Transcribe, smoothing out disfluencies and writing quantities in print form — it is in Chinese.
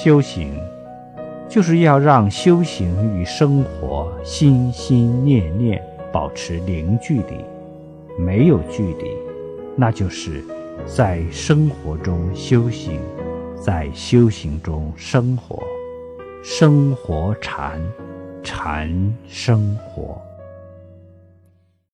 修行就是要让修行与生活心心念念保持零距离，没有距离，那就是在生活中修行，在修行中生活，生活禅，禅生活。